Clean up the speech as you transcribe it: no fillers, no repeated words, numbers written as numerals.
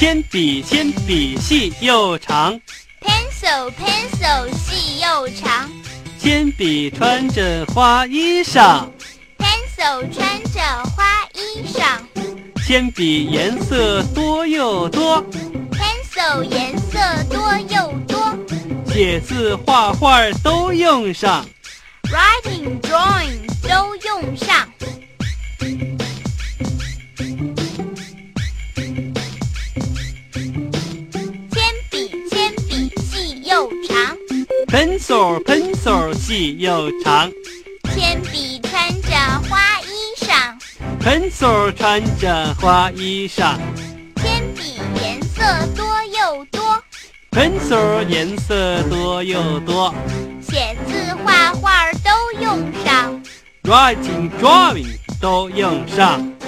铅笔细又长， Pencil 细又长， 铅笔穿着花衣裳， Pencil 穿着花衣裳， 铅笔颜色多又多， Pencil 颜色多又多， 写字画画都用上， Writing Drawing 都用上。铅笔细又长， Pencil 细又长， 铅笔穿着花衣裳， Pencil 穿着花衣裳， 铅笔颜色多又多， Pencil 颜色多又多， 写字画画都用上。 Writing Drawing 都用上。